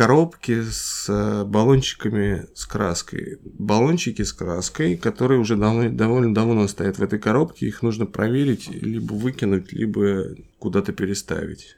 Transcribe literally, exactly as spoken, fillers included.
коробки с баллончиками с краской. Баллончики с краской, которые уже давно, довольно давно стоят в этой коробке, их нужно проверить, либо выкинуть, либо куда-то переставить.